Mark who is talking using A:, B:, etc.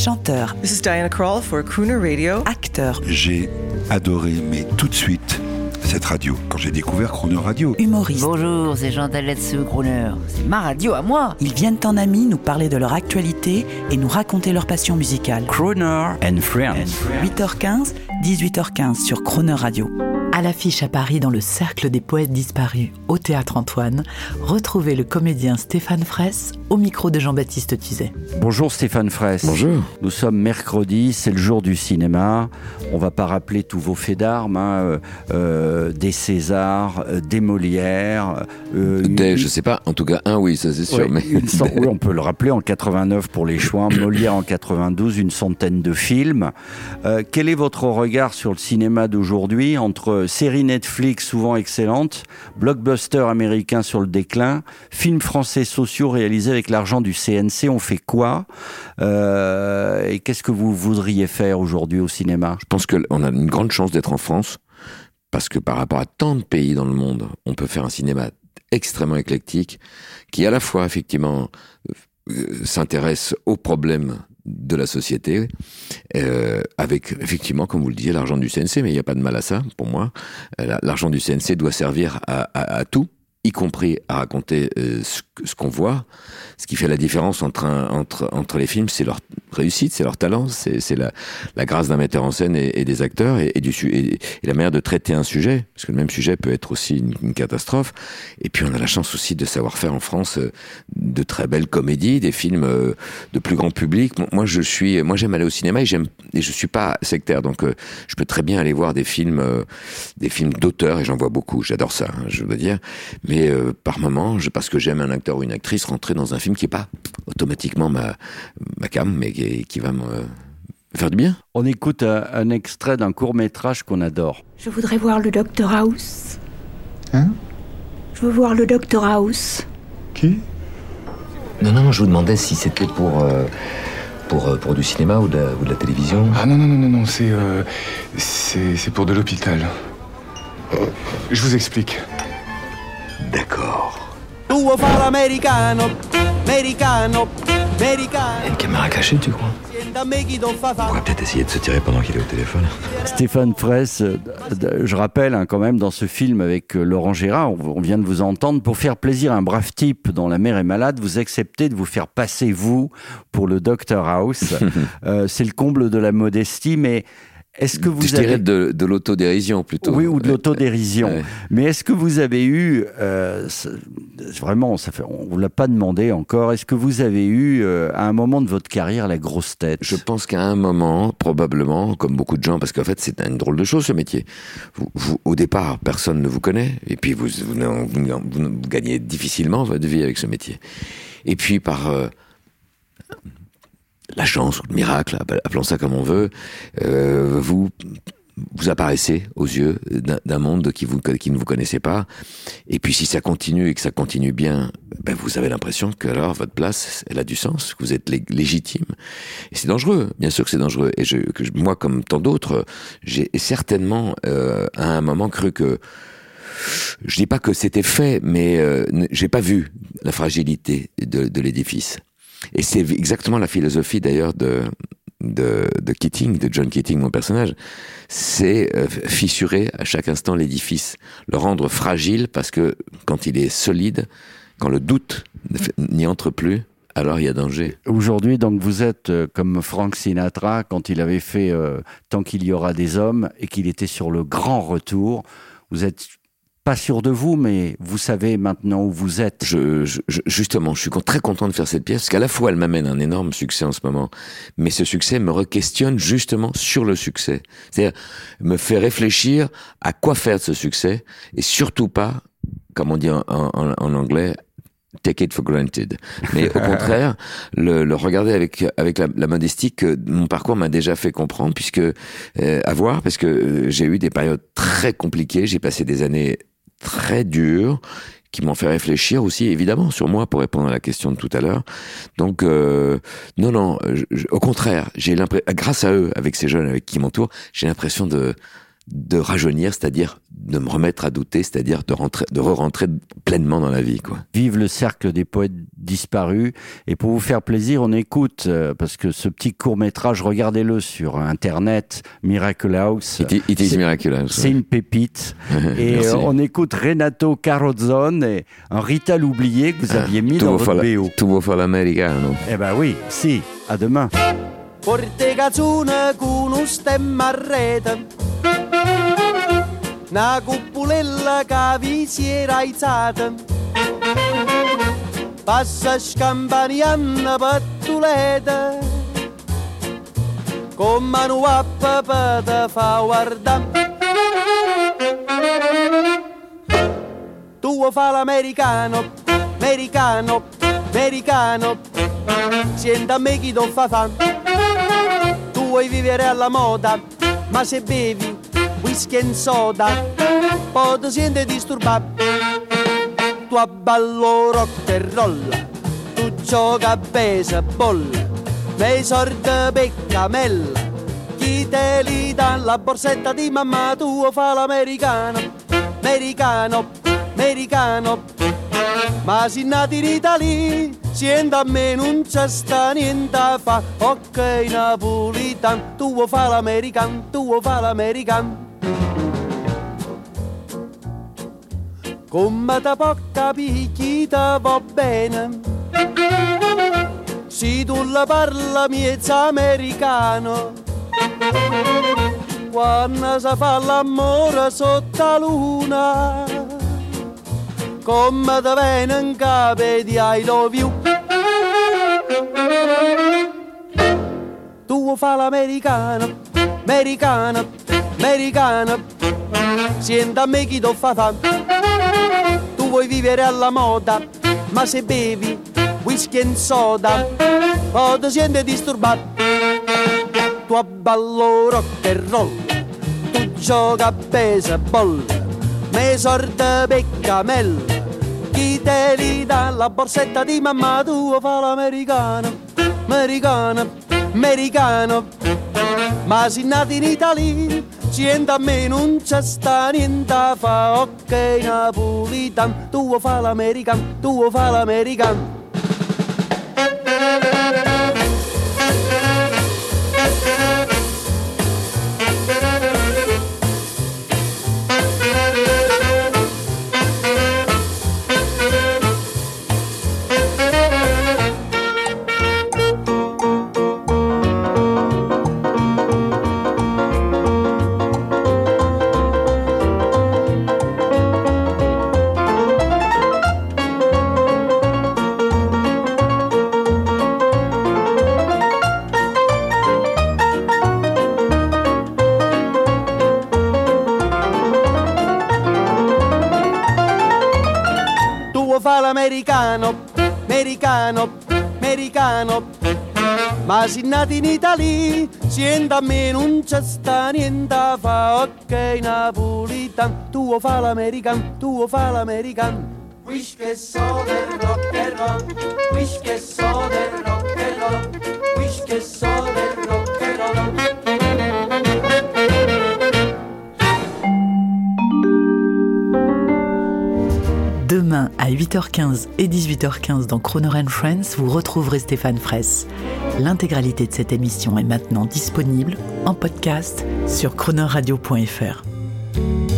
A: chanteur.
B: This is Diana Krall for Crooner Radio.
A: Acteur.
C: J'ai adoré, mais tout de suite, cette radio, quand j'ai découvert Crooner Radio.
A: Humoriste.
D: Bonjour, c'est Jean Taletsu, Crooner. C'est ma radio à moi.
A: Ils viennent en amis nous parler de leur actualité et nous raconter leur passion musicale.
E: Crooner and Friends.
A: 8h15, 18h15 sur Crooner Radio. À l'affiche à Paris dans le Cercle des Poètes Disparus, au Théâtre Antoine, retrouvez le comédien Stéphane Fraisse au micro de Jean-Baptiste Tuzet.
E: Bonjour Stéphane Fraisse.
F: Bonjour.
E: Nous sommes mercredi, c'est le jour du cinéma. On va pas rappeler tous vos faits d'armes, des Césars, des Molières.
F: Je sais pas, en tout cas un oui, ça c'est sûr.
E: Ouais,
F: mais...
E: oui, on peut le rappeler, en 89 pour les Chouans, Molière en 92, une centaine de films. Quel est votre regard sur le cinéma d'aujourd'hui entre séries Netflix souvent excellentes, blockbusters américains sur le déclin, films français sociaux réalisés avec l'argent du CNC, on fait quoi et qu'est-ce que vous voudriez faire aujourd'hui au cinéma ?
F: Je pense qu'on a une grande chance d'être en France, parce que par rapport à tant de pays dans le monde, on peut faire un cinéma extrêmement éclectique, qui à la fois effectivement s'intéresse aux problèmes de la société, avec effectivement, comme vous le disiez, l'argent du CNC, mais il n'y a pas de mal à ça, pour moi. L'argent du CNC doit servir à tout, y compris à raconter ce qu'on voit. Ce qui fait la différence entre les films, c'est leur réussite, c'est leur talent, c'est la grâce d'un metteur en scène et des acteurs et la manière de traiter un sujet, parce que le même sujet peut être aussi une catastrophe. Et puis on a la chance aussi de savoir faire en France de très belles comédies, des films de plus grand public. Moi j'aime aller au cinéma et je suis pas sectaire, donc je peux très bien aller voir des films d'auteurs, et j'en vois beaucoup. J'adore ça, hein, je veux dire. Mais par moment, parce que j'aime un acteur ou une actrice, rentrer dans un film qui est pas automatiquement ma came, mais qui va me faire du bien.
E: On écoute un extrait d'un court-métrage qu'on adore.
G: Je voudrais voir le Dr House.
H: Hein ?
G: Je veux voir le Dr House.
H: Qui ?
I: Non, je vous demandais si c'était pour du cinéma ou de la télévision.
H: Ah non, c'est pour de l'hôpital. Je vous explique.
I: D'accord. Une caméra cachée, tu crois ? On va peut-être essayer de se tirer pendant qu'il est au téléphone.
E: Stéphane Fraisse, je rappelle quand même dans ce film avec Laurent Gérard, on vient de vous entendre, pour faire plaisir à un brave type dont la mère est malade, vous acceptez de vous faire passer vous pour le Dr House. C'est le comble de la modestie, mais est-ce que vous
F: Je dirais de l'autodérision plutôt.
E: Oui, ou de l'autodérision. Ouais. Mais est-ce que vous avez eu, vraiment, on vous l'a pas demandé encore, est-ce que vous avez eu, à un moment de votre carrière, la grosse tête ?
F: Je pense qu'à un moment, probablement, comme beaucoup de gens, parce qu'en fait, c'est une drôle de chose, ce métier. Vous, au départ, personne ne vous connaît, et puis vous gagnez difficilement votre vie avec ce métier. Et puis, par la chance ou le miracle, appelons ça comme on veut, vous apparaissez aux yeux d'un monde qui ne vous connaissait pas. Et puis si ça continue et que ça continue bien, vous avez l'impression que alors votre place, elle a du sens, que vous êtes légitime. Et c'est dangereux, bien sûr que c'est dangereux. Et moi, comme tant d'autres, j'ai certainement à un moment cru que, je dis pas que c'était fait, mais j'ai pas vu la fragilité de l'édifice. Et c'est exactement la philosophie d'ailleurs de Keating, de John Keating, mon personnage. C'est fissurer à chaque instant l'édifice, le rendre fragile, parce que quand il est solide, quand le doute n'y entre plus, alors il y a danger.
E: Aujourd'hui, donc, vous êtes comme Frank Sinatra quand il avait fait Tant qu'il y aura des hommes et qu'il était sur le grand retour. Vous êtes pas sûr de vous, mais vous savez maintenant où vous êtes.
F: Justement, je suis très content de faire cette pièce, parce qu'à la fois, elle m'amène un énorme succès en ce moment, mais ce succès me re-questionne justement sur le succès. C'est-à-dire, me fait réfléchir à quoi faire de ce succès, et surtout pas, comme on dit en anglais, take it for granted. Mais au contraire, le regarder avec la modestie que mon parcours m'a déjà fait comprendre, puisque, parce que j'ai eu des périodes très compliquées, j'ai passé des années très dures, qui m'ont fait réfléchir aussi, évidemment, sur moi, pour répondre à la question de tout à l'heure. Donc, au contraire, j'ai l'impression, grâce à eux, avec ces jeunes avec qui m'entourent, j'ai l'impression de rajeunir, c'est-à-dire de me remettre à douter, c'est-à-dire de re-rentrer pleinement dans la vie, quoi.
E: Vive le cercle des poètes disparus. Et pour vous faire plaisir, on écoute, parce que ce petit court-métrage, regardez-le sur Internet, Miracle House.
F: It is Miracle House.
E: C'est une pépite. Et on écoute Renato Carosone et un Rita l'oublié que vous aviez mis dans votre BO.
F: Tuvo fa l'americano.
E: Eh ben oui, si, à demain.
J: Porte cazzone con un stemma a rete, una cupulella che vi si era alzata, passa scampanianna pattuleta, con mano a papà te fa guardare. Tu fa l'americano, americano, americano, senta a me chi ti fa fame. Tu vuoi vivere alla moda, ma se bevi whisky e soda, poi ti senti disturbato. Tu abballo rock and roll, tu gioca a baseball, nei sordi peccamella, chi te li dà la borsetta di mamma, tu fa l'americano, americano, americano, ma si nati in Italia, sienta a me non c'è sta niente a fa, ok napolitan, tu fa l'americano, tu fa l'americano. Come te può capire chi te va bene, se tu la parla miezza americano, quando si fa l'amore sotto la luna, come te viene in capo di I love you. Tu fa l'americano, americano, americano, senta a me chi ti fa fame. Tu vuoi vivere alla moda, ma se bevi whisky e soda, poi ti senti disturbato. Tu abballo rock and roll, tu gioca a baseball, me sorte peccamella, chi te li dà la borsetta di mamma, tu fa l'americano, americano, americano, ma si nati in Italia, sienta a me non c'è sta niente a fa, ok napolitan, tu fa l'americano, tu fa l'americano. Fa l'americano, americano, americano, ma si nati in Italia, sienta a me non c'è sta niente a fa, ok napolitan, tu fa l'americano, tu fa l'americano. Wish che so del rock and roll, wish che so del rock and roll, wish che so del rock and roll.
A: Demain à 8h15 et 18h15 dans Croner & Friends, vous retrouverez Stéphane Fraisse. L'intégralité de cette émission est maintenant disponible en podcast sur cronerradio.fr.